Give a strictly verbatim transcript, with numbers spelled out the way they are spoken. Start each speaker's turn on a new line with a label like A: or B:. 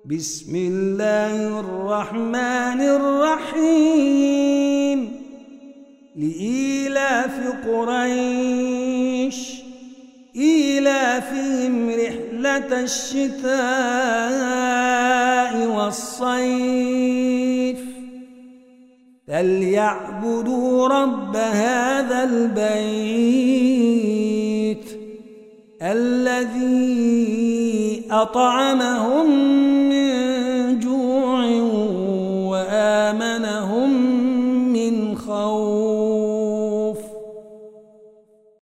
A: بسم الله الرحمن الرحيم لإيلاف قريش إيلافهم رحلة الشتاء والصيف فليعبدوا رب هذا البيت الذي أطعمهم